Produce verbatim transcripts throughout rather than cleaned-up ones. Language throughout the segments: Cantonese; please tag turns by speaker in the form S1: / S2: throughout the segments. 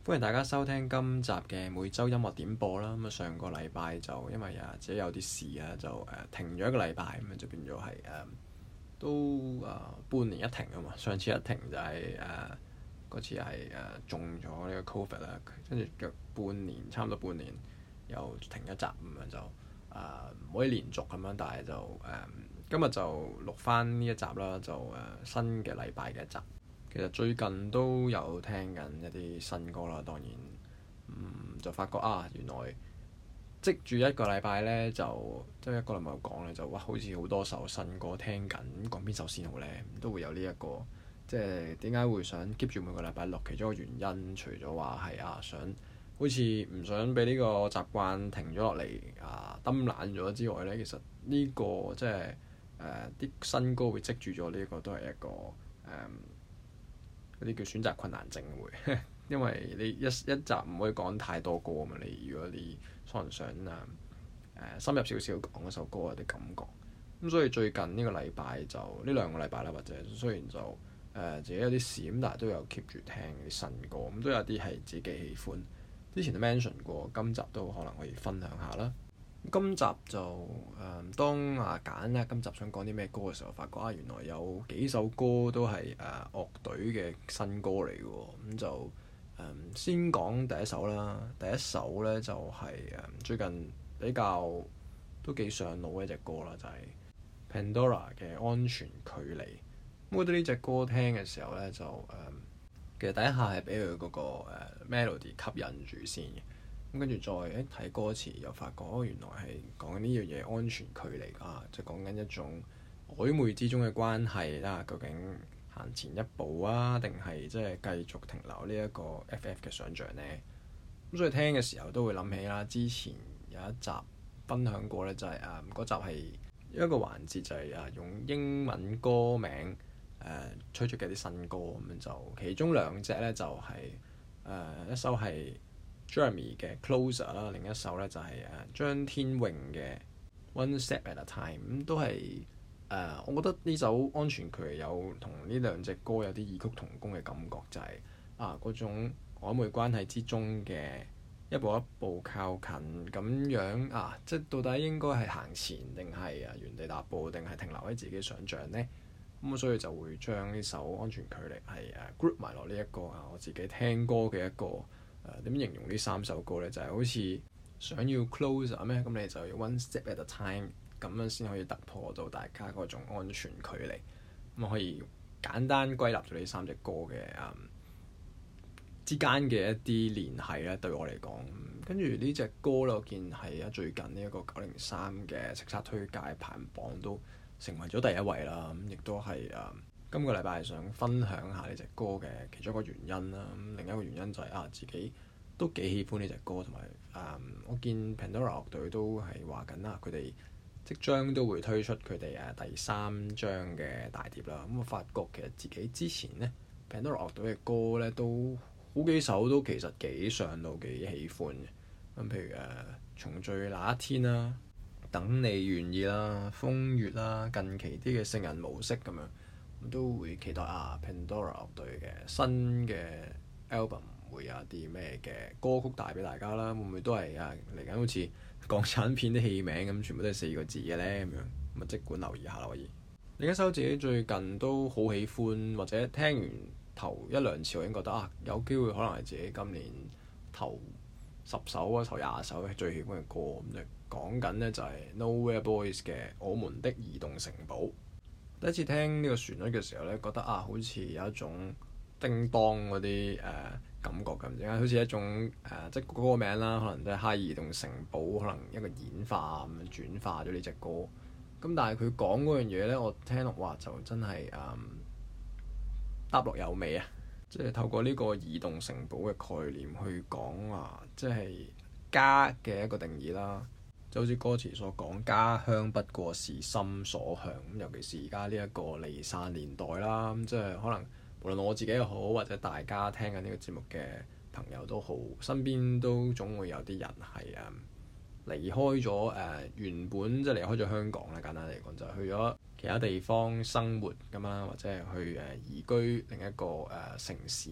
S1: 歡迎大家收聽今集嘅每週音樂點播啦。咁啊，上個禮拜就因為啊自己有啲事啊，就誒、呃、停咗一個禮拜，咁啊就變咗係誒都啊、呃、半年一停啊嘛。上次一停就係誒嗰次係誒、呃、中咗呢個 Covid 啦，跟住約半年差唔多半年又停一集咁樣就啊唔、呃、可以連續咁樣，但係就誒、呃、今日就錄翻呢一集啦，就誒、呃、新嘅禮拜嘅一集。其實最近都有聽緊一啲新歌啦，當然，嗯，就發覺啊，原來積住一個禮拜咧，就即係一個禮拜講咧，就哇，好似好多首新歌聽緊，講邊首先好咧？都會有呢、這、一個，即係點解會想 keep 住每個禮拜錄？其中一個原因，除咗話係啊，想好似唔想俾呢個習慣停咗落嚟啊，抌爛咗之外咧，其實呢、這個即係誒啲新歌會積住咗，呢個都係一個誒。嗯嗰啲叫選擇困難症會，因為你一一集唔可以講太多歌啊嘛。你如果你可能想啊誒、呃、深入少少講嗰首歌有啲感覺，咁所以最近呢個禮拜就呢兩個禮拜啦，或者雖然就誒、呃、自己有啲事咁，但係都有 keep 住聽啲新歌，咁都有啲係自己喜歡。之前都 mention 過，今集都可能可以分享下啦。今集就誒、呃、當啊揀咧，今集想講啲咩歌嘅時候，發覺啊原來有幾首歌都係誒、呃、樂隊嘅新歌嚟嘅喎，咁就誒、呃、先講第一首啦。第一首咧就係、是、誒、呃、最近比較都幾上腦嘅一隻歌啦，就係、是、Pandora 嘅《安全距離》。咁我覺得呢隻歌聽嘅時候咧，就誒、呃、其實第一下係俾佢嗰個、呃、melody 吸引住先嘅。咁跟住再誒睇歌詞，又發覺哦，原來係講緊呢樣嘢安全距離啊，即係講緊一種曖昧之中嘅關係啦。究竟行前一步啊，定係即係繼續停留呢一個 F F 嘅想像呢？咁所以聽嘅時候都會諗起啦，之前有一集分享過咧、就係，就係啊嗰集係一個環節，就係啊用英文歌名誒、呃、推出嘅啲新歌咁樣，就其中兩隻咧就係、係、誒、呃、一首係Jeremy 嘅 Closer 啦，另一首咧就係誒張天穎嘅 One Step at a Time，咁都係誒、呃，我覺得呢首安全距離有同呢兩隻歌有啲異曲同工嘅感覺，就係、是、啊嗰種曖昧關係之中嘅一步一步靠近咁樣啊，即係到底應該係行前定係啊原地踏步，定係停留喺自己想像呢？咁所以就會將呢首安全距離係誒 group 埋落呢一個啊我自己聽歌嘅一個。誒點、呃、形容呢三首歌呢？就係、是、好似想要 closer 咩？咁你就要 one step at a time，咁樣先可以突破到大家嗰種安全距離。咁可以簡單歸納咗呢三隻歌嘅誒、嗯、之間嘅一啲聯繫咧，對我嚟講。跟住呢隻歌咧，我見係啊最近呢一個九零三嘅叱咤推介排行榜都成為咗第一位啦。咁亦都係誒。嗯今個禮拜係想分享下呢隻歌嘅其中一個原因啦，咁另一個原因就係、是、啊自己都幾喜歡呢隻歌，同埋誒我見 Pandora 樂隊都係話緊啦，佢哋即將都會推出佢哋誒第三張嘅大碟啦。咁、嗯、我發覺其實自己之前呢 Pandora 樂隊嘅歌呢都好幾首都其實幾上腦幾喜歡嘅。咁、嗯、譬如誒、呃、重聚那一天啦、等你願意啦、風月啦、近期啲嘅聖人模式咁樣。都會期待啊 Pandora 樂隊嘅新嘅 album 會有啲咩嘅歌曲帶俾大家啦，會唔會都係啊嚟緊好似港產片啲戲名咁，全部都係四個字嘅咧咁樣，咁啊即管留意下啦可以。另一首自己最近都好喜歡，或者聽完頭一兩次我已經覺得啊有機會可能係自己今年頭十首啊頭廿首最喜歡嘅歌，咁就講緊呢就係 Nowhere Boys 嘅我們的移動城堡。第一次聽呢個旋律嘅時候咧，覺得啊，好似有一種叮當嗰啲誒感覺咁，點解好似一種誒、呃，即係歌名啦，可能都係哈爾移動城堡，可能一個演化咁樣轉化咗呢隻歌。咁但係佢講嗰樣嘢咧，我聽落話就真係誒答落有味啊！即係透過呢個移動城堡嘅概念去講啊，即係家嘅一個定義啦。就好似歌詞所講，家鄉不過是心所向。咁尤其是而家呢一個離散年代啦，咁即係可能無論我自己又好，或者大家聽緊呢個節目嘅朋友都好，身邊都總會有啲人係誒離開咗誒、呃、原本即係離開咗香港啦。簡單嚟講，就係、去咗其他地方生活咁啦，或者係去誒移居另一個誒、呃、城市。咁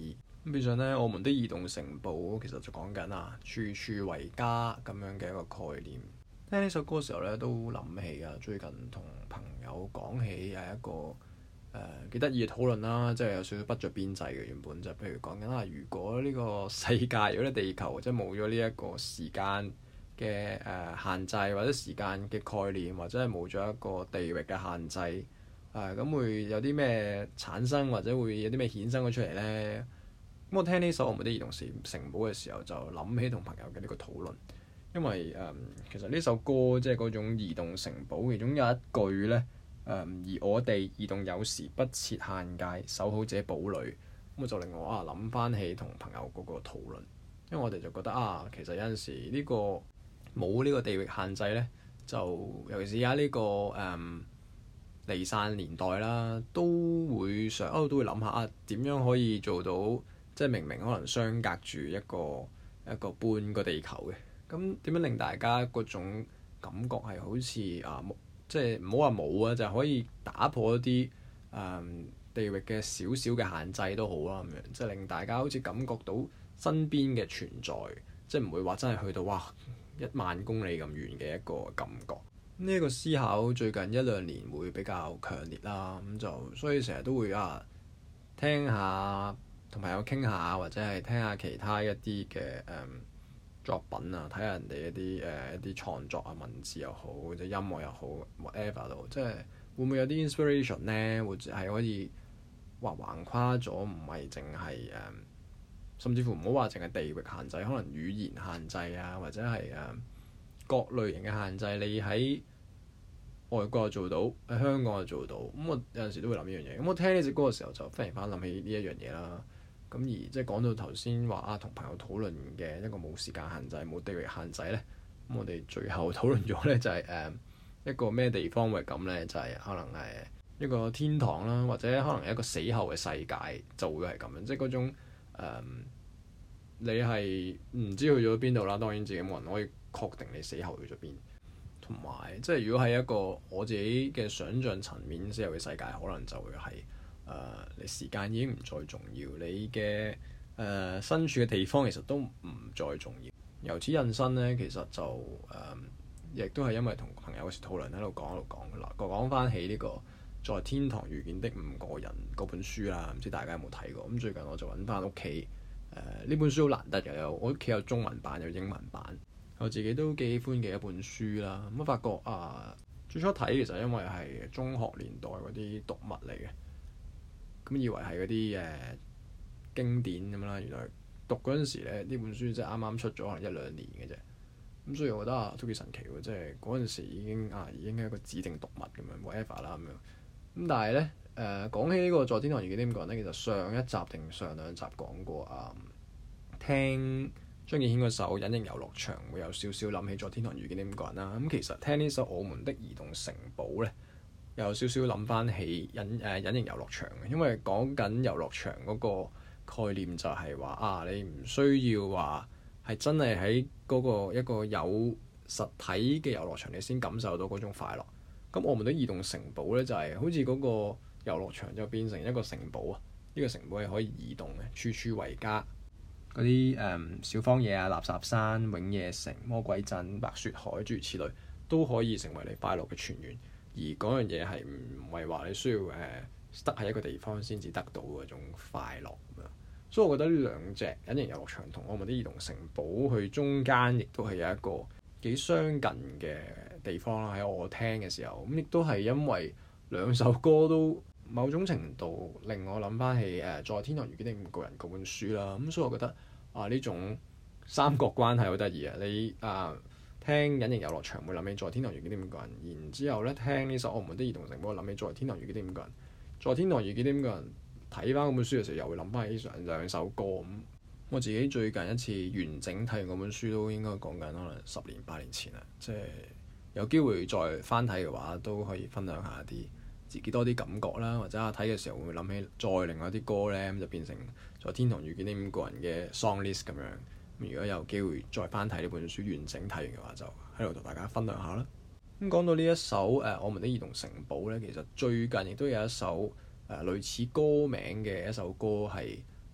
S1: 咁變相咧，我們的移動城堡其實就講緊啊，處處為家咁樣嘅一個概念。聽呢首歌嘅時候咧，都諗起啊，最近同朋友講起係一個誒幾得意嘅討論啦，即係有少少不着邊際嘅原本就譬如講緊啊，如果呢個世界，如果呢地球即係冇咗呢一個時間嘅誒、呃、限制，或者時間嘅概念，或者係冇咗一個地域嘅限制，誒、呃、咁會有啲咩產生，或者會有啲咩衍生咗出嚟咧？咁我聽呢首《我們的移動城堡》嘅時候，就諗起同朋友嘅呢個討論，因為誒、嗯、其實呢首歌即係嗰種移動城堡，其中有一句咧誒、嗯，而我哋移動有時不設限界，守好這堡壘，咁就令我啊諗翻起同朋友嗰個討論，因為我哋就覺得啊，其實有陣時呢、呢個冇呢個地域限制咧，就尤其是而家呢個誒、嗯、離散年代啦，都會想哦都會諗下啊點樣可以做到。即係明明可能相隔住一個一個半個地球嘅，咁點樣令大家嗰種感覺係好似啊冇，即係唔好話冇啊，就係、可以打破一啲誒、嗯、地域嘅少少嘅限制都好啦，咁樣即係令大家好似感覺到身邊嘅存在，即係唔會話真係去到哇一萬公里咁遠嘅一個感覺。呢、這、一個思考最近一兩年會比較強烈啦，咁就所以成日都會啊聽下。同朋友傾下，或者係聽下其他一啲嘅誒作品啊，睇下人哋一啲誒、呃、一啲創作啊，文字又好，或者音樂又好 whatever 都，即係會唔會有啲 inspiration 咧？或者係可以話橫跨咗，唔係淨係誒，甚至乎唔好話淨係地域限制，可能語言限制啊，或者係誒、呃、各類型嘅限制，你喺外國又做到，喺香港又做到，咁我有陣時都會諗呢樣嘢。咁我聽呢隻歌嘅時候，就忽然間諗起呢一樣嘢啦。咁而即係講到頭先話啊，同朋友討論嘅一個冇時間限制、冇地域限制咧，咁我哋最後討論咗咧就係、是、誒、呃、一個咩地方會咁咧？就係、是、可能係一個天堂啦，或者可能一個死後嘅世界就會係咁樣，即係嗰種、呃、你係唔知去咗邊度啦。當然自己冇人可以確定你死後去咗邊，同埋即係如果係一個我自己嘅想像層面死後嘅世界，可能就會係。誒、呃，你時間已經唔再重要，你嘅誒、呃、身處嘅地方其實都唔再重要。由此引申咧，其實就誒，亦、呃、都係因為同朋友嗰時討論喺度講喺度講啦，講翻起呢、這個在天堂遇見的五個人嗰本書啦，唔知大家有冇睇過？咁最近我就揾翻屋企誒呢本書好難得嘅，有我屋企有中文版有英文版，我自己都幾喜歡嘅一本書啦。咁我發覺啊、呃，最初睇其實因為係中學年代嗰啲讀物嚟嘅。咁以為係嗰啲誒經典咁啦，原來讀嗰陣時咧，呢本書即係啱啱出咗可能一兩年嘅啫。咁所以我覺得啊，都幾神奇喎！即係嗰陣時已經啊，已經係一個指定讀物咁樣，whatever 啦咁樣。咁但係咧誒，講起呢個在天堂遇見的五個人咧，其實上一集定上兩集講過啊，聽張敬軒嗰首《隱形遊樂場》會有少少諗起在天堂遇見的五個人啦。咁其實聽呢首《我們的移動城堡》咧。有少少諗翻起隱誒、呃、隱形遊樂場嘅，因為講緊遊樂場嗰個概念就係話啊，你唔需要話係真係喺嗰個一個有實體嘅遊樂場，你先感受到嗰種快樂。咁我們的移動城堡咧，就係、是、好似嗰個遊樂場就變成一個城堡啊！呢、這個城堡係可以移動嘅，處處為家。嗰啲誒小荒野啊、垃圾山、永夜城、魔鬼鎮、白雪海諸如此類，都可以成為你快樂嘅泉源。而嗰樣嘢係唔係話你需要誒得喺一個地方先至得到嗰種快樂咁樣，所以我覺得呢兩隻隱形遊樂場同我們的移動城堡佢中間亦都係有一個幾相近嘅地方啦。喺我聽嘅時候，咁亦都係因為兩首歌都某種程度令我諗翻起誒在天堂遇見的五個人嗰本書啦。咁所以我覺得啊呢種三角關係好得意啊！你啊〜聽隱形遊樂場會諗起在天堂遇見的五個人，然之後咧聽呢首我們的移動城堡諗起在天堂遇見的五個人，在天堂遇見的五個人睇翻嗰本書嘅時候又會諗翻起上兩首歌咁。我自己最近一次完整睇完嗰本書都應該講緊可能十年八年前啦，即係有機會再翻睇嘅話都可以分享下啲自己多啲感覺啦，或者啊睇嘅時候會唔會諗起再另外啲歌咧，咁就變成在天堂遇見的五個人嘅 song list 咁樣。如果有機會再翻睇呢本書完整睇完嘅話，就喺度同大家分享下啦。咁講到呢一首誒、呃《我們的移動城堡》咧，其實最近亦都有一首誒、呃、類似歌名嘅一首歌係誒、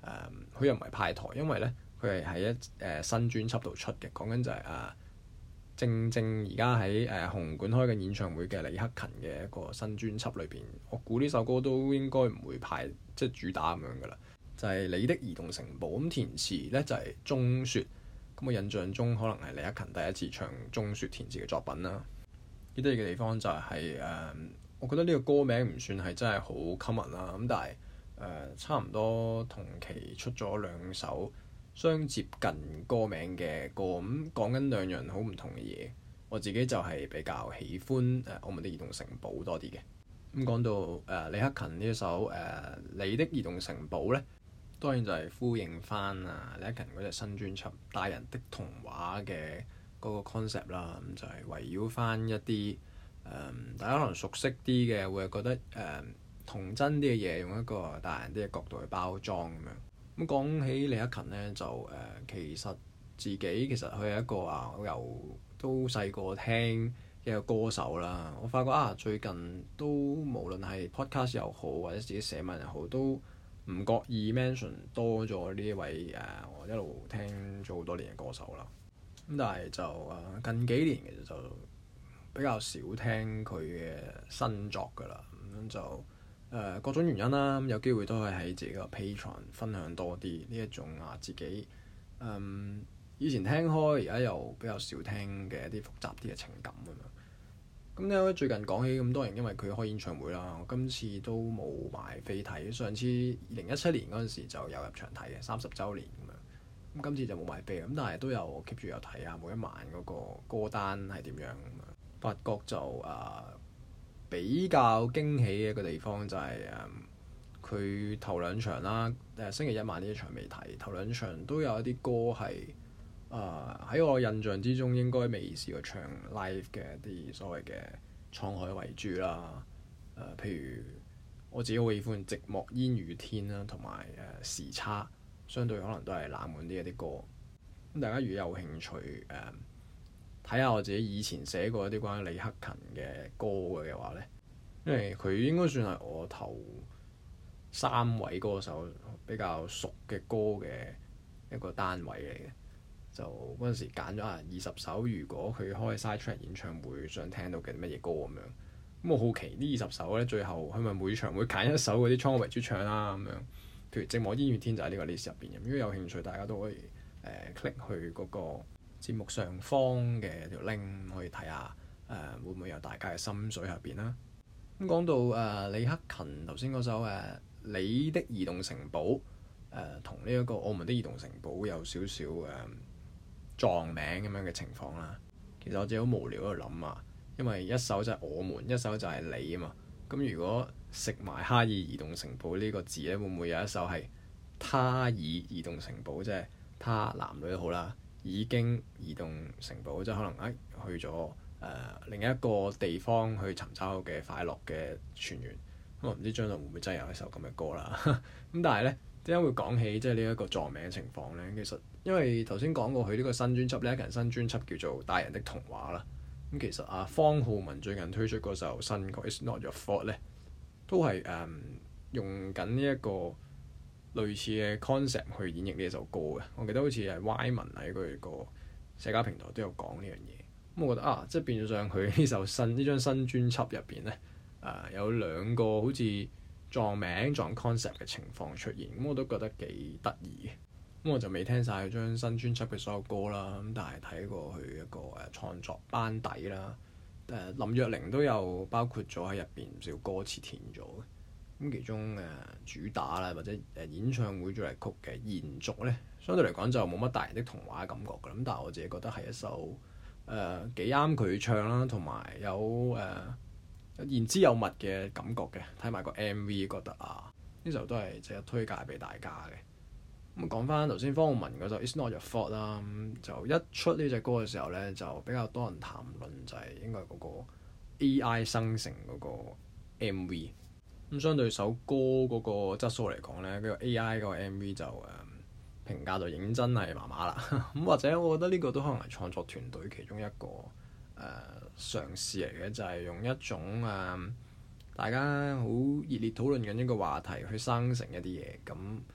S1: 誒佢又唔係派台，因為咧佢係喺一誒、呃、新專輯度出嘅，講緊就係、是、啊。呃正正而家喺誒紅館開緊演唱會嘅李克勤嘅一個新專輯裏邊，我估呢首歌都應該唔會排即係主打咁樣噶啦，就係、是、你的移動城堡。咁填詞咧就係鐘雪，咁我印象中可能係李克勤第一次唱鐘雪填詞嘅作品啦。幾得意嘅地方就係、是、誒、呃，我覺得呢個歌名唔算係真係好 common 啦，咁但係誒、呃、差唔多同期出咗兩首相接近歌名嘅歌，咁講緊兩樣好唔同嘅嘢。我自己就係比較喜歡誒、呃《我們的移動城堡》多啲嘅。咁講到誒、呃、李克勤呢一首誒、呃《你的移動城堡》咧，當然就係呼應翻啊李克勤嗰隻新專輯《大人的童話》嘅嗰個 concept 啦。咁就係圍繞翻一啲誒、呃、大家可能熟悉啲嘅，會係覺得誒、呃、童真啲嘅嘢，用一個大人啲嘅角度去包裝咁樣。咁講起李克勤咧，就誒、呃、其實自己其實佢係一個啊，我由都細個聽嘅一個歌手啦。我發覺啊，最近都無論係 podcast 又好，或者自己寫文又好，都唔覺意 mention 多咗呢一位誒、啊，我一路聽咗好多年嘅歌手啦。咁但係就誒、啊、近幾年其實就比較少聽佢嘅新作㗎啦。咁就誒、呃、各種原因啦，咁有機會都係喺自己個 Patreon 分享多啲呢一種啊自己嗯以前聽開，而家又比較少聽嘅一啲複雜啲嘅情感咁樣。咁咧最近講起咁多人，因為佢開演唱會啦，我今次都冇買飛睇。上次二零一七年嗰陣時就有入場睇嘅三十週年咁樣。咁今次就冇買飛，咁但係都有 keep 住有睇下每一晚嗰個歌單係點樣咁樣。發覺就啊〜、呃比較驚喜嘅一個地方就係誒佢頭兩場啦，誒、呃、星期一晚呢一場未睇，頭兩場都有一啲歌係誒喺我印象之中應該未試過唱 live 嘅一啲所謂嘅滄海遺珠啦，誒、呃、譬如我自己好喜歡寂寞煙雨天啦，同埋誒時差，相對可能都係冷門啲一啲歌。咁大家如果有興趣誒，呃睇下我自己以前寫過一啲關於李克勤嘅歌嘅話咧，因為佢應該算係我頭三位歌手比較熟嘅歌嘅一個單位嚟嘅。就嗰陣時揀咗啊二十首，如果佢開 side track 演唱會想聽到嘅乜嘢歌咁樣。咁我好奇呢二十首咧，最後佢咪每場會揀一首嗰啲滄海遺珠唱啦咁樣。譬如寂寞煙雨天就喺呢個 list 入邊。如果有興趣，大家都可以誒、呃、click 去嗰、那個節目上方嘅條 link 可以睇下，誒、呃、會唔會有大家嘅心水入邊啦？咁講到誒、呃、李克勤頭先嗰首誒、呃、你的移動城堡，誒同呢一個我們的移動城堡有少少誒、呃、撞名咁樣嘅情況啦。其實我自己好無聊喺度諗啊，因為一首就係我們，一首就係你啊嘛。咁如果食埋哈爾移動城堡呢個字咧，會唔會有一首係他爾移動城堡，即係他男女都好啦？已經移動城堡，即係可能誒、哎、去咗誒、呃、另一個地方去尋找嘅快樂嘅泉源。咁我唔知將來會唔會真係有一首咁嘅歌啦。咁但係咧，點解會講起即係呢一個撞名嘅情況咧？其實因為頭先講過佢呢個新專輯，呢一個新專輯叫做《大人的童話》啦。咁其實啊，方浩文最近推出嗰首新歌《It's Not Your Fault》咧，都係誒、嗯、用緊呢一個類似嘅 concept 去演繹呢一首歌嘅。我記得好似係 Y 文喺佢個社交平台都有講呢樣嘢。咁我覺得啊，即係變相佢呢首新呢張新專輯入邊咧，誒、呃、有兩個好似撞名撞 concept 嘅情況出現。咁我都覺得幾得意嘅。咁我就未聽晒佢張新專輯嘅所有歌啦。咁但係睇過佢一個誒創作班底啦。誒、呃、林若寧都有包括咗喺入邊唔少歌詞填咗嘅。咁其中誒、呃、主打啦，或者誒、呃、演唱會主題曲嘅延續咧，相對嚟講就冇乜大人的童話嘅感覺㗎。咁但係我自己覺得係一首誒幾啱佢唱啦，同埋有誒、呃、言之有物嘅感覺嘅。睇埋個 M V 覺得啊，呢首都係值得推介俾大家嘅。咁講翻頭先方皓玟嗰首 It's Not Your Fault 啦，咁就一出呢隻歌嘅時候咧，就比較多人談論就係應該係嗰個 A I 生成嗰個 M V。咁相對首歌嗰個質素嚟講咧，呢、這個 A I 嗰個 M V 就誒、嗯、評價就認真係麻麻啦。咁或者我覺得呢個都可能係創作團隊其中一個誒、呃、嘗試嚟嘅，就係、是、用一種誒、呃、大家好熱烈討論緊一個話題去生成一啲嘢。咁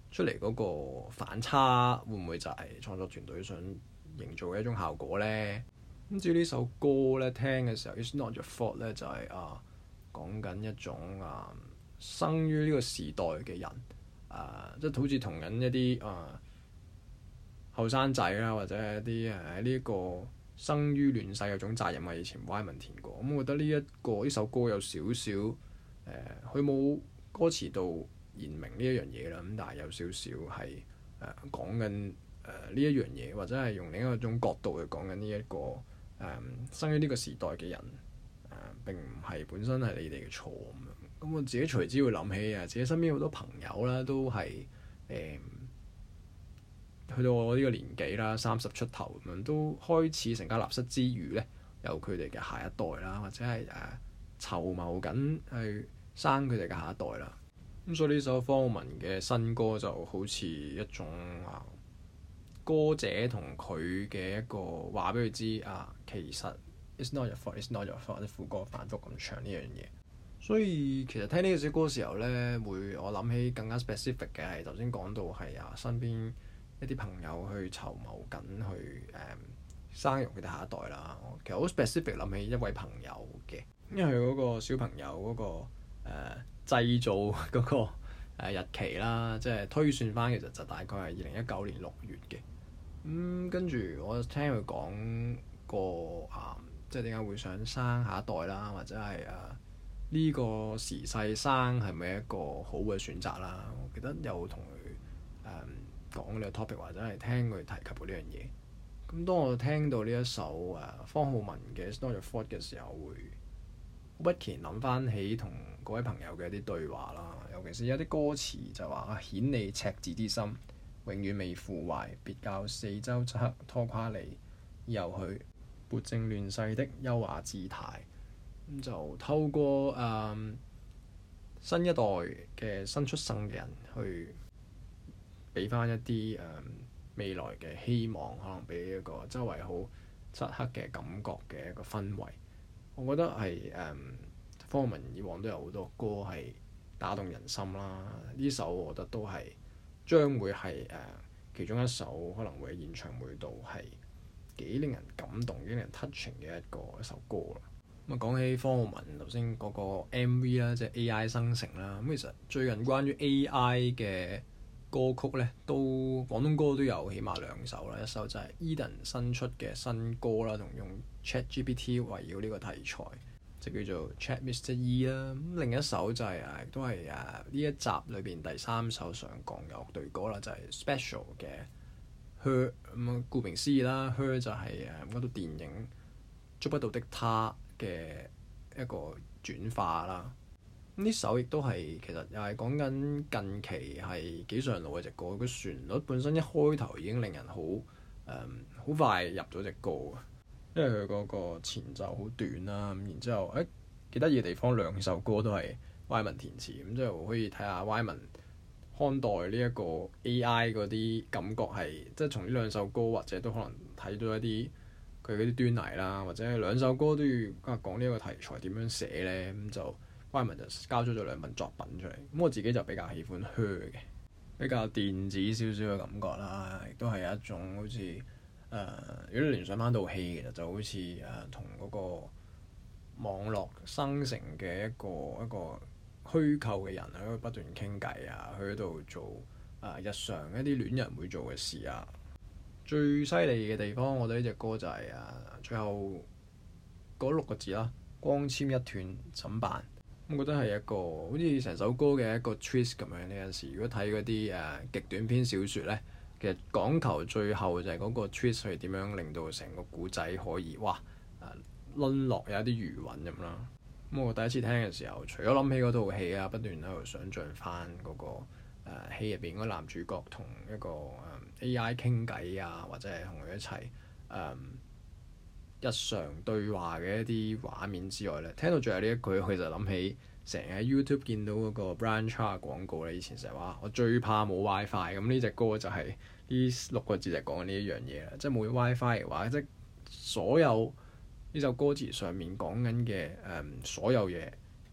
S1: 出嚟嗰個反差會唔會就係創作團隊想營造嘅一種效果咧？咁至於呢首歌咧，聽嘅時候 It's Not Your Fault 咧，就係、是、啊講緊一種啊生於呢個時代嘅人啊，即係好似同緊一啲啊後生仔啦，或者係一啲誒喺呢個生於亂世嗰種責任啊。以前 Wyman 填過，咁、嗯、我覺得呢、這、一個呢首歌有少少誒，佢、呃、冇歌詞度言明呢一樣嘢啦，咁但係有少少係誒講緊誒呢一樣嘢，或者係用另一種角度去講緊呢一個誒、呃、生於呢個時代嘅人誒、呃，並唔係本身係你哋嘅錯咁樣。咁我自己隨之會諗起啊，自己身邊好多朋友啦，都係誒、呃、去到我呢個年紀啦，三十出頭咁樣，都開始成家立室之餘咧，有佢哋嘅下一代啦，或者係誒籌謀緊去生佢哋嘅下一代啦。咁所以呢首方浩文嘅新歌就好似一種啊歌者同佢嘅一個話俾佢知啊，其實 It's not your fault, it's not your fault，啲副歌反覆咁唱呢樣嘢。所以其實聽呢首歌嘅時候咧，會我諗起更加 specific 嘅係頭先講到係啊身邊一啲朋友去籌謀緊去誒、嗯、生育佢哋下一代啦。其實好 specific 諗起一位朋友嘅，因為佢嗰個小朋友嗰、嗰個誒、呃、製造嗰個日期啦，即係推算翻，其實就大概係二零一九年六月嘅。咁跟住我聽佢講過啊，即係點解會想生下一代啦，或者係誒呢個時勢生係咪一個好嘅選擇啦？我記得有同佢誒講呢個 topic，或者係聽佢提及過呢樣嘢。咁當我聽到呢一首誒、啊、方浩文嘅《It's Not Your Fault》嘅時候，會不期諗翻起同各位朋友嘅一啲對話啦。尤其是有啲歌詞就話啊，顯你赤子之心，永遠未腐壞，別教四周漆黑拖垮你，由去撥正亂世的優雅姿態。咁就透過誒、嗯、新一代嘅新出生嘅人去俾翻一啲誒、嗯、未來嘅希望，可能俾一個周圍好漆黑嘅感覺嘅一個氛圍。我覺得係誒、嗯、方浩文以往都有好多歌係打動人心啦，呢首我覺得都係將會係誒、呃、其中一首可能會喺演唱會度係幾令人感動、幾令人 touching 嘅一個一首歌啦。咁啊，講起方浩文頭先嗰個 M V 啦，即係 A I 生成啦。咁其實最近關於 A I 嘅歌曲咧，都廣東歌都有起碼兩首啦。一首就係 Eden 新出嘅新歌啦，同用 ChatGPT 圍繞呢個題材，就叫做 Chat Mister E 啦。咁另一首就係、是、誒，都係誒呢一集裏邊第三首上港嘅樂隊歌啦，就係、是、Special 嘅 Her。咁啊，顧名思義啦 ，Her 就係誒嗰套電影捉不到的她嘅一個轉化啦。呢首亦都係其實又係講緊近期係幾上路嘅隻歌，個旋律本身一開頭已經令人好誒好快入咗隻歌，因為佢嗰個前奏好短啦。咁然之後誒幾得意嘅地方，兩首歌都係 Wyman 填詞，咁之後可以睇下 Wyman 看待呢一個 A I 嗰啲感覺係，即係從呢兩首歌或者都可能睇到一啲佢嗰啲端倪啦，或者兩首歌都要啊講呢一個題材點樣寫咧，咁就 Wyman 就交咗咗兩份作品出嚟。咁我自己就比較喜歡 Her 嘅，比較電子少少嘅感覺啦，亦都係一種好似誒、呃，如果你聯想翻套戲，其實就好似誒同嗰個網絡生成嘅一個一個虛構嘅人喺度不斷傾偈啊，去嗰度做啊、呃、日常一啲戀人會做嘅事啊。最犀利嘅地方，我覺得呢隻歌就係、是、啊，最後嗰六個字啦，光纖一斷怎辦？我覺得係一個好似成首歌嘅一個 twist 咁樣。呢陣時如果睇嗰啲誒極短篇小説咧，其實講求最後就係嗰個 twist 係點樣令到成個故仔可以哇啊淪落有一啲餘韻咁啦。咁我第一次聽嘅時候，除咗諗起嗰套戲啊，不斷喺度想像翻嗰個誒、呃、戲入邊嗰個男主角同一個誒、呃、A I 傾偈啊，或者係同佢一齊誒、呃、日常對話嘅一啲畫面之外咧，聽到最後呢一句，佢就諗起成日喺 YouTube 見到嗰個 Brian Cha 廣告咧。以前成日話我最怕冇 WiFi，咁呢隻歌就係呢六個字就講緊呢一樣嘢啦。即係冇 WiFi 嘅話，即係所有呢首歌詞上面講緊嘅誒所有嘢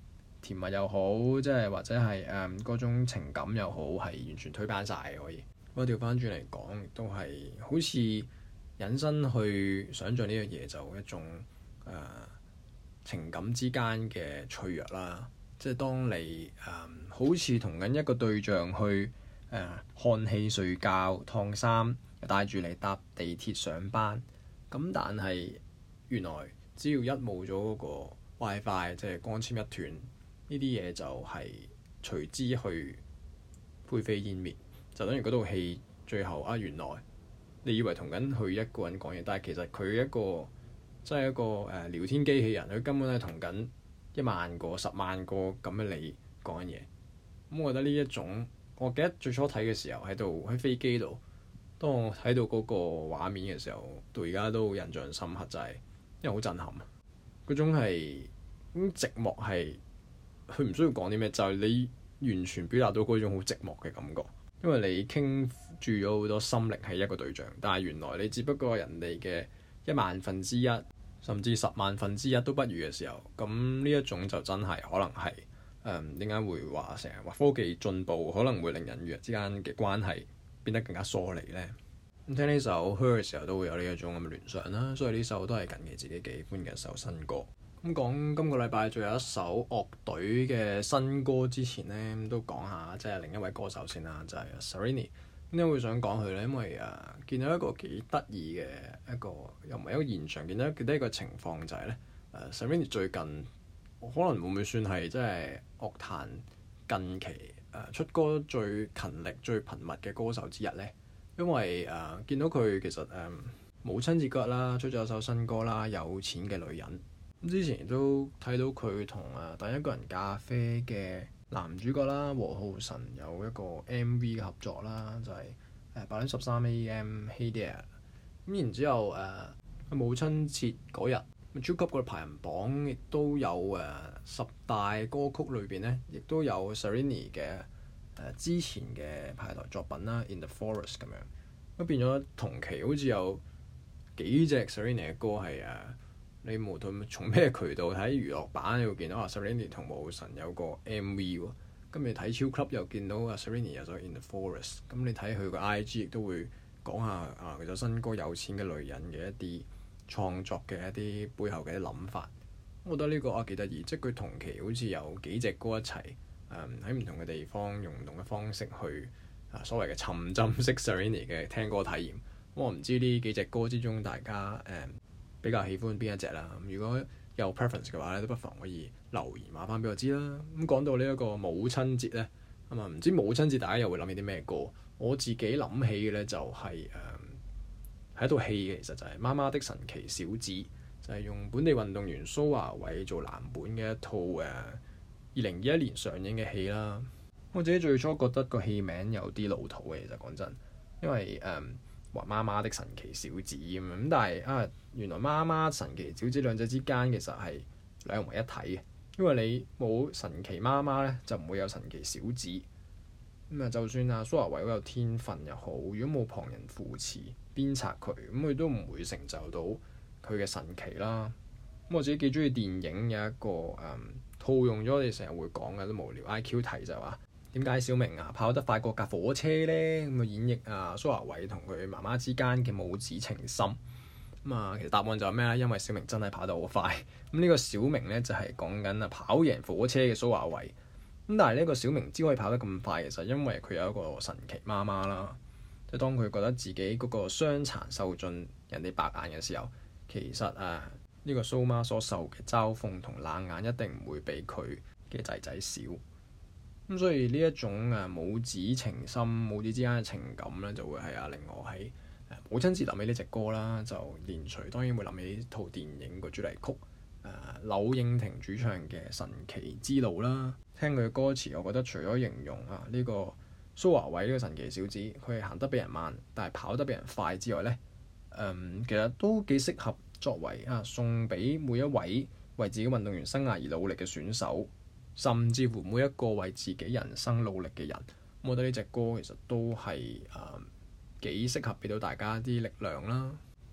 S1: 甜蜜又好，即係或者係誒嗰種情感又好，係完全推翻晒嘅可以。我調翻轉嚟講，亦都係好似引申去想像呢樣嘢，就一種誒、呃、情感之間嘅脆弱啦。即係當你誒、呃、好似同緊一個對象去誒、呃、看戲、睡覺、燙衫，帶住你搭地鐵上班。咁但係原來只要一冇咗嗰個 WiFi，即係光纖一斷，呢啲嘢就係隨之去灰飛煙滅。就等於嗰套戲最後啊，原來你以為同緊佢一個人講嘢，但係其實佢一個即係一個誒、呃、聊天機器人，佢根本係同緊一萬個、十萬個咁嘅你講緊嘢。咁我覺得呢一種，我記得最初睇嘅時候喺度喺飛機度，當我睇到嗰個畫面嘅時候，到而家都印象深刻，就係因為好震撼啊！嗰種係咁寂寞，係佢唔需要講啲咩，就係你完全表達到嗰種好寂寞嘅感覺。因為你傾注咗好多心力喺一個對象，但係原來你只不過人哋嘅一萬分之一，甚至十萬分之一都不如嘅時候，咁呢一種就真係可能係誒點解會話成日話科技進步可能會令人與人之間嘅關係變得更加疏離呢？咁聽呢首《Her》嘅時候都會有呢一種咁嘅聯想啦，所以呢首都係近期自己幾喜歡嘅一首新歌。咁講今個禮拜仲有一首樂隊嘅新歌之前呢，都講下即係另一位歌手先啦，就係、是、Serrini。點解會想講佢呢？因為誒、啊、見到一個幾得意嘅一個，又唔係一個現象，見到見到一個情況就係咧誒 Serrini 最近可能會唔會算係即係樂壇近期誒、呃、出歌最勤力、最頻密嘅歌手之一呢？因為誒、呃、見到佢其實誒、呃、母親節嗰日啦，出咗一首新歌啦，《有錢嘅女人》。咁之前都睇到佢同誒第一個人咖啡嘅男主角啦，和浩辰有一個 M V 嘅合作啦，就係誒八點十三 A M Hey There。咁然之後誒、呃、母親節嗰日，超級個排行榜亦都有誒、呃、十大歌曲裏邊咧，亦都有 Serrini 嘅誒、呃、之前嘅排台作品啦，《In the Forest》咁樣。咁變咗同期好似有幾隻 Serrini 嘅歌係誒。呃你無論從咩渠道睇娛樂版，你會見到啊 Serrini 同和浩辰有個 M V 喎。咁你睇超級又見到啊 Serrini 有咗 In the Forest。咁你睇佢個 I G 亦都會講下啊，佢首新歌有錢嘅女人嘅一啲創作嘅一啲背後嘅啲諗法。我覺得呢個啊幾得意，即係佢同期好似有幾隻歌一齊誒喺唔同嘅地方用唔同嘅方式去啊所謂嘅沉浸式 Serrini 嘅聽歌體驗。我唔知呢幾隻歌之中大家誒、嗯比較喜歡邊一隻啦？如果有 preference 嘅話咧，都不妨可以留言話翻俾我知啦。咁講到呢一個母親節咧，咁啊唔知母親節大家又會諗起啲咩歌？我自己諗起嘅咧就係誒係一套戲嘅，其實就係《媽媽的神奇小子》，就係、是、用本地運動員蘇華偉做藍本嘅一套誒二零二一年上映嘅戲啦。我自己最初覺得個戲名有啲老土嘅，其實講真，因為誒。嗯話媽媽的神奇小子咁樣，咁但係啊，原來媽媽神奇小子兩者之間其實係兩為一體嘅，因為你冇神奇媽媽咧，就唔會有神奇小子。咁、嗯、啊，就算啊蘇華偉好有天分又好，如果冇旁人扶持鞭策佢，咁佢都唔會成就到佢嘅神奇啦。咁我自己幾中意電影有一個誒、嗯、套用咗我哋成日會講嘅都無聊 I Q 題就係話。點解小明啊跑得快過架火車呢？咁啊演繹啊蘇華偉同佢媽媽之間嘅母子情深。咁啊其實答案就係咩咧？因為小明真係跑得好快。咁呢個小明咧就係講緊啊跑贏火車嘅蘇華偉。咁但係呢個小明之所以跑得咁快，其實因為佢有一個神奇媽媽啦。即係當佢覺得自己嗰個傷殘受盡人哋白眼嘅時候，其實啊呢個蘇媽所受嘅嘲諷同冷眼一定唔會比佢嘅仔仔少。咁所以呢一種誒母子情深、母子之間嘅情感咧，就會係啊令我喺誒母親節諗起呢隻歌啦，就連隨當然會諗起套電影個主題曲誒、呃、柳應廷主唱嘅《神奇之路》啦。聽佢嘅歌詞，我覺得除咗形容啊呢、這個蘇華偉呢個神奇小子，佢係行得比人慢，但係跑得比人快之外咧，誒、嗯、其實都幾適合作為啊送俾每一位為自己運動員生涯而努力嘅選手。甚至乎每一個為自己人生努力嘅人，我覺得呢隻歌其實都係誒幾適合俾到大家啲力量啦。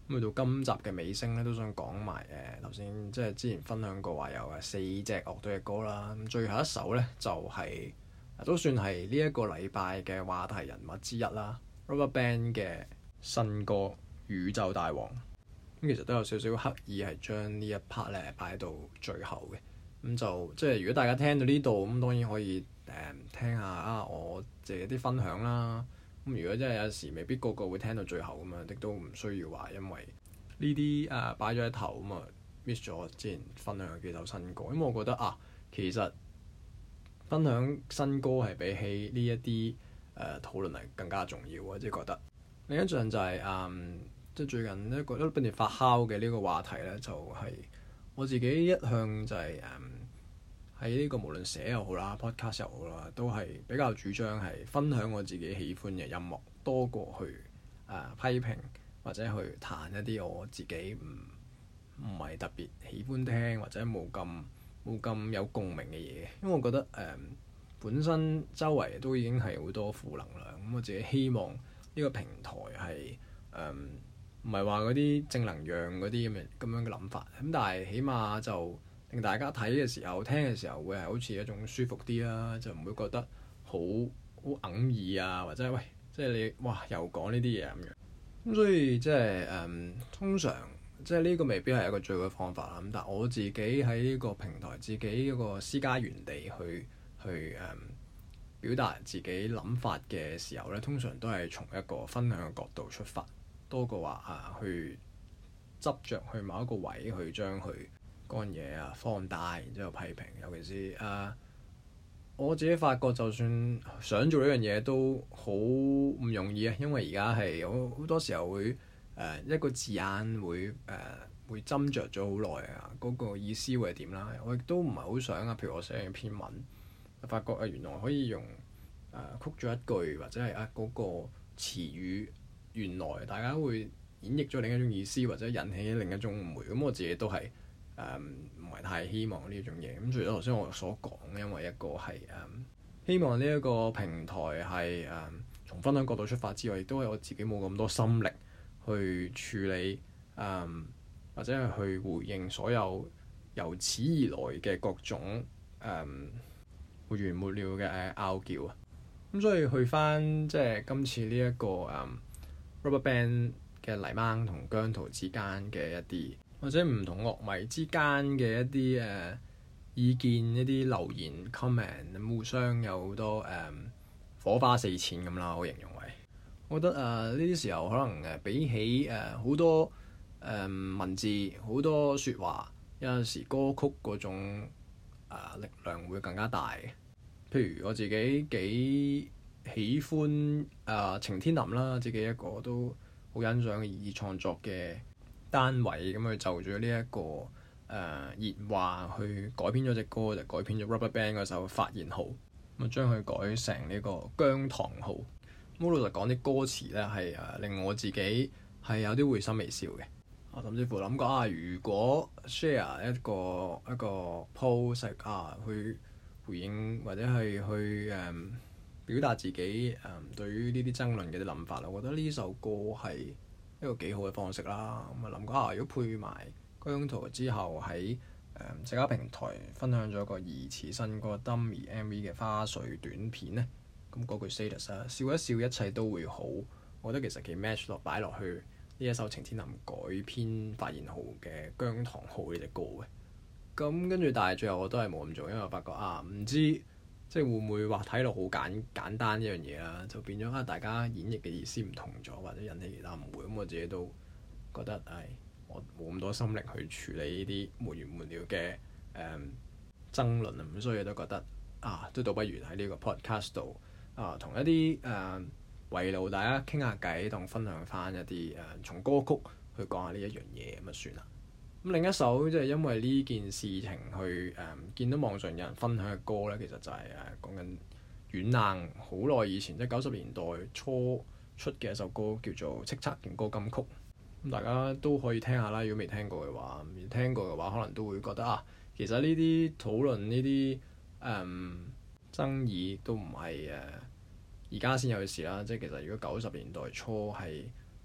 S1: 咁去到今集嘅尾聲咧，都想講埋誒頭先即係之前分享過話有誒四隻樂隊嘅歌啦。咁最後一首咧就係、是、都算係呢一個禮拜嘅話題人物之一啦。RubberBand 嘅新歌《宇宙大王》咁其實都有少少刻意係將呢一 part 咧擺到最後嘅。咁就即係如果大家聽到呢度咁，當然可以誒、呃、聽下啊我自己啲分享啦。咁如果真係有時未必個個會聽到最後咁樣，亦都唔需要話因為呢啲誒擺咗喺頭咁啊 miss 咗之前分享嘅幾首新歌。因為我覺得啊，其實分享新歌係比起呢一啲誒討論係更加重要啊！即係覺得另一樣就係、是、誒、嗯，即係最近一個一不斷發酵嘅呢個話題咧，就係、是、我自己一向就係誒喺呢個無論寫又好啦，podcast 又好啦，都係比較主張係分享我自己喜歡嘅音樂，多過去誒、呃、批評或者去彈一啲我自己唔唔係特別喜歡聽或者冇咁冇咁有共鳴嘅嘢。因為我覺得誒、呃、本身周圍都已經係好多負能量，咁我自己希望呢個平台係誒唔係話嗰啲正能量嗰啲咁嘅咁樣嘅諗法，咁但係起碼就令大家睇嘅時候、聽嘅時候會係好似一種舒服啲啦，就唔會覺得好好哽耳啊，或者喂，即係你哇又講呢啲嘢咁樣。咁所以即係誒，通常即係呢個未必係一個最好嘅方法啦。咁但係我自己喺呢個平台，自己一個私家園地去去誒、嗯、表達自己諗法嘅時候咧，通常都係從一個分享嘅角度出發，多過話啊去執着去某一個位去將佢嗰樣嘢啊放大，然之後批評。尤其是誒、啊、我自己發覺，就算想做呢樣嘢都好唔容易啊，因為而家係有好多時候會誒、呃、一個字眼會誒、呃、會斟酌咗好耐啊，嗰、那個意思會係點啦？我亦都唔係好想啊，譬如我寫一篇文，發覺啊原來可以用誒、呃、曲咗一句，或者係啊嗰、那個詞語原來大家會演繹咗另一種意思，或者引起另一種誤會。咁我自己都係。誒唔係太希望呢種嘢，咁除咗頭先我所講，因為一個係誒、嗯、希望呢一個平台係誒、嗯、從分享角度出發之外，亦都係我自己冇咁多心力去處理誒、嗯、或者係去回應所有由此而來嘅各種誒、嗯、沒完沒了嘅拗撬啊！咁所以去返即係今次呢、這、一個誒、嗯、RubberBand 嘅黎芒同姜濤之間嘅一啲，或者唔同樂迷之間嘅一啲誒、uh, 意見、一啲留言 comment，互相有好多誒、um, 火花四濺咁啦。我形容為，我覺得誒呢啲時候可能誒、uh, 比起誒好、uh, 多誒、um, 文字、好多説話，有陣時歌曲嗰種、uh, 力量會更加大。譬如我自己幾喜歡誒、uh, 晴天林啦，自己一個都好欣賞嘅以創作嘅單位，咁去就住呢一個誒、呃、熱話去改編咗隻歌，就改編咗 RubberBand 嗰首《發現號》，咁啊將佢改成呢個姜糖號。咁老實講啲歌詞咧係誒令我自己係有啲會心微笑嘅。我甚至乎諗過啊，如果 share 一個一個 post 啊，去回應或者係去誒、嗯、表達自己誒、嗯、對於呢啲爭論嘅啲諗法啦，我覺得呢首歌係一個幾好嘅方式啦，咁啊諗過啊，如果配埋姜濤之後喺誒社交平台分享咗個疑似新歌 Dummy M V 嘅花絮短片咧，咁嗰句 status 啊，笑一笑一切都會好，我覺得其實幾 match 落擺落去呢一首晴天林改編發現號嘅姜糖號呢隻歌嘅。咁跟住但係最後我都係冇咁做，因為我發覺啊唔知。即係會唔會話睇落好簡簡單一樣嘢啦，就變咗啊大家演繹嘅意思唔同咗，或者引起其他誤會。咁我自己都覺得係我冇咁多心力去處理呢啲沒完沒了嘅誒、嗯、爭論啊，咁所以都覺得啊都倒不如喺呢個 podcast 度啊同一啲誒圍爐大家傾下偈，當分享翻一啲誒、啊、從歌曲去講下呢一樣嘢咁就算啦。咁另一首即係因為呢件事情去誒、嗯、見到網上有人分享嘅歌咧，其實就係誒講緊軟硬好耐以前，即係九十年代初出嘅一首歌，叫做《叱咤勁歌金曲》。咁大家都可以聽下啦，如果未聽過嘅話，未聽過嘅話，可能都會覺得啊，其實呢啲討論呢啲誒爭議都唔係誒而家先有嘅事啦。即係其實如果九十年代初係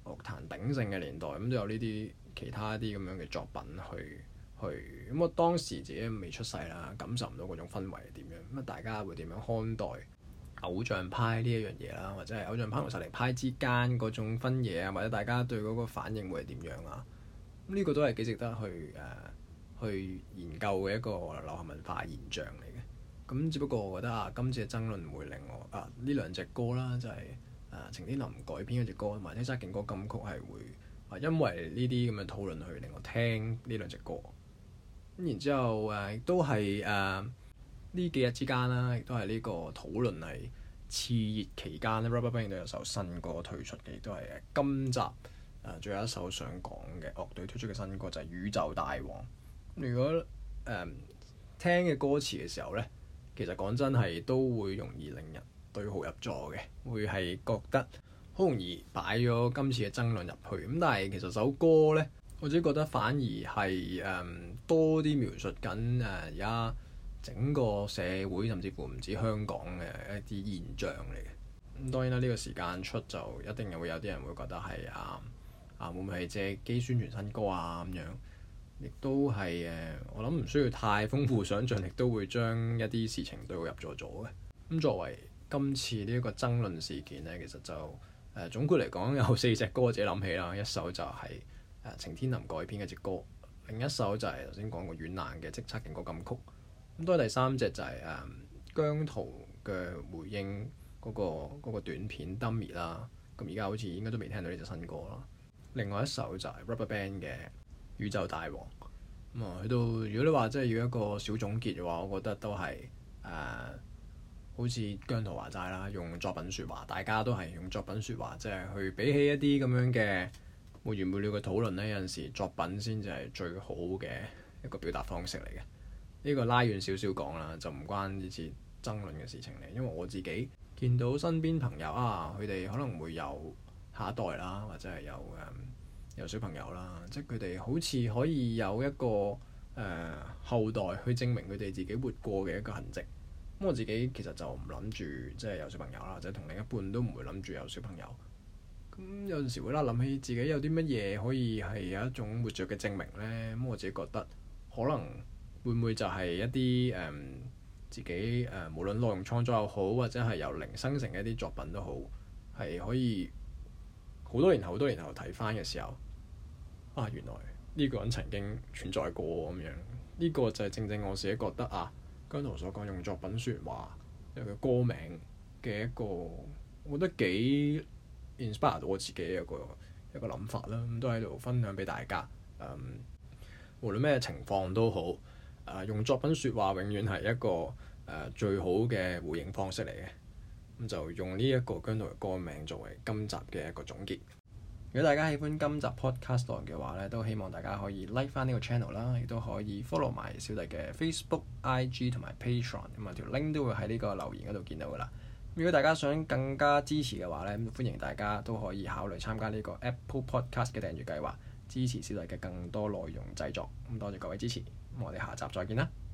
S1: 樂壇鼎盛嘅年代，咁都有呢啲其他啲咁樣嘅作品去去。咁我當時自己未出世啦，感受唔到嗰種氛圍係點樣。咁啊，大家會點樣看待偶像派呢一樣嘢啦，或者係偶像派同實力派之間嗰種分野啊，或者大家對嗰個反應會係點樣啊？咁、這、呢個都係幾值得去誒、呃、去研究嘅一個流行文化現象嚟嘅。咁只不過我覺得啊，今次嘅爭論會令我啊呢兩隻歌啦，就係、是、啊程天林改編嗰隻歌同埋《叱咤勁歌金曲》係會啊因為呢啲咁嘅討論去令我聽呢兩隻歌。咁然之後誒亦都係誒呢幾日之間啦，亦都係呢個討論係熾熱期間咧 RubberBand 都有首新歌推出嘅，亦都係今集誒最後一首想講嘅樂隊推出嘅新歌就係、是《宇宙大王》。如果誒、呃、聽嘅歌詞嘅時候咧，其實講真係都會容易令人對號入座嘅，會係覺得好容易擺咗今次嘅爭論入去。咁但係其實首歌咧，我自己覺得反而係誒、嗯、多啲描述緊誒而家整個社會甚至乎唔止香港嘅一啲現象嚟嘅。咁當然啦，呢、這個時間出就一定會有啲人會覺得係啊啊會唔會係借機宣傳新歌啊咁樣？亦都係誒，我諗唔需要太豐富想像力，都會將一啲事情對號入座咗嘅。咁作為今次呢一個爭論事件呢，其實就誒、呃、總括嚟講有四隻歌我自己諗起啦。一首就係、是、誒、呃、程天林改編嘅隻歌，另一首就係頭先講過軟爛嘅《叱咤勁歌金曲》。咁多第三隻就係、是、誒、呃、姜濤嘅回應嗰、那個那個短片 Dummy 啦。咁而家好似應該都未聽到呢隻新歌啦。另外一首就係 RubberBand 嘅宇宙大王。咁啊，去到如果你話真係要一個小總結嘅話，我覺得都係誒、呃，好似姜濤話齋啦，用作品説話，大家都係用作品説話，即係去比起一啲咁樣嘅沒完沒了嘅討論呢，有陣時作品先至係最好嘅一個表達方式嚟嘅。呢、這個拉遠少少講啦，就唔關呢次爭論嘅事情嚟，因為我自己見到身邊朋友啊，佢哋可能會有下一代啦，或者係有誒。嗯有小朋友啦，即係佢哋好似可以有一個誒、呃、後代去證明佢哋自己活過嘅一個痕跡。咁我自己其實就唔諗住即係有小朋友啦，或者同另一半都唔會諗住有小朋友。咁有陣時會啦諗起自己有啲乜嘢可以係有一種活着嘅證明呢？咁我自己覺得可能會唔會就係一啲誒、呃、自己誒、呃、無論內容創作又好，或者係由零生成嘅一啲作品都好，係可以好多年後、好多年後睇翻嘅時候。啊！原來呢個人曾經存在過咁樣，呢、這個就係正正我自己覺得啊，姜濤所講用作品説話，有佢歌名嘅一個，我覺得幾 inspire 到我自己嘅一個一個諗法啦。咁都喺度分享俾大家。嗯，無論咩情況都好，誒、呃、用作品説話永遠係一個誒、呃、最好嘅回應方式嚟嘅。咁就用呢一個姜濤嘅歌名作為今集嘅一個總結。如果大家喜歡今集 podcast 嘅話咧，都希望大家可以 like 翻呢個 channel 啦，亦都可以 follow 埋小弟嘅 Facebook、I G 同埋 Patreon，咁啊條 link 都會喺呢個留言嗰度見到噶啦。如果大家想更加支持嘅話咧，歡迎大家都可以考慮參加呢個 Apple Podcast 嘅訂閱計劃，支持小弟嘅更多內容製作。咁多謝各位支持，咁我哋下集再見啦〜